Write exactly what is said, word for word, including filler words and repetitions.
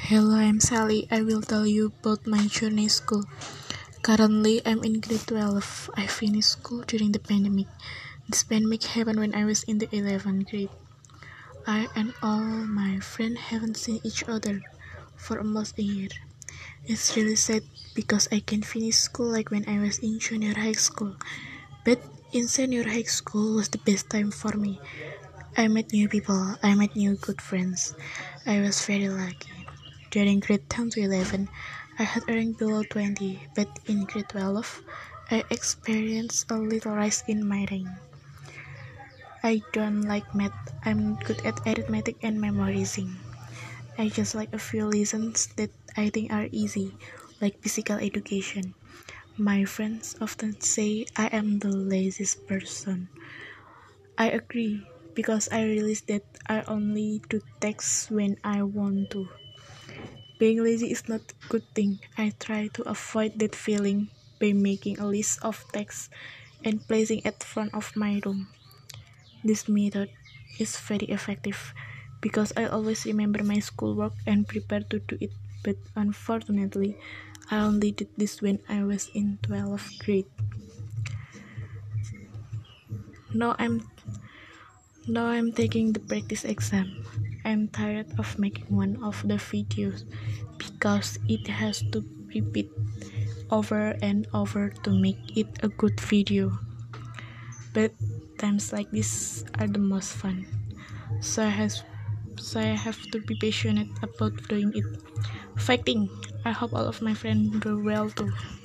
Hello, I'm Sally. I will tell you about my journey school. Currently, I'm in grade twelve. I finished school during the pandemic. This pandemic happened when I was in the eleventh grade. I and all my friends haven't seen each other for almost a year. It's really sad because I can finish school like when I was in junior high school. But in senior high school was the best time for me. I met new people, I met new good friends. I was very lucky. During grade ten to eleven, I had a rank below twenty, but in grade twelve, I experienced a little rise in my rank. I don't like math, I'm good at arithmetic and memorizing. I just like a few lessons that I think are easy, like physical education. My friends often say I am the laziest person. I agree, because I realize that I only do texts when I want to. Being lazy is not a good thing. I try to avoid that feeling by making a list of texts and placing it front of my room. This method is very effective because I always remember my schoolwork and prepare to do it. But unfortunately, I only did this when I was in twelfth grade. Now I'm now I'm taking the practice exam. I'm tired of making one of the videos because it has to repeat over and over to make it a good video. But times like this are the most fun. So I have so I have to be passionate about doing it. Fighting! I hope all of my friends do well too.